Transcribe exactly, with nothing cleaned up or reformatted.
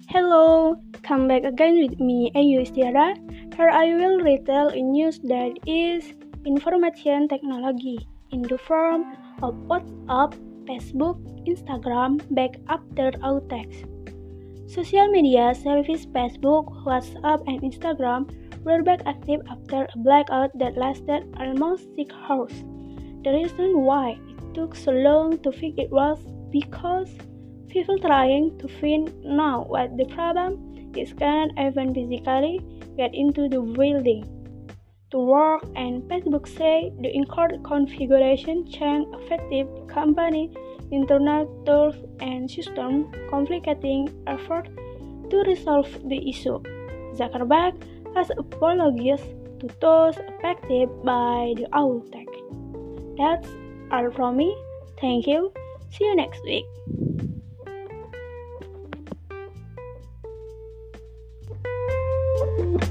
Hello, come back again with me, Ayu Istiara. Here I will retell a news that is information technology in the form of WhatsApp, Facebook, Instagram back after outage. Social media service Facebook, WhatsApp, and Instagram were back active after a blackout that lasted almost six hours. The reason why it took so long to fix it was because people trying to find now what the problem is can't even physically get into the building to work, and Facebook say the incorrect configuration change affected the company internal tools and system, complicating effort to resolve the issue. Zuckerberg has apologized to those affected by the outage. That's all from me. Thank you. See you next week. Thank you.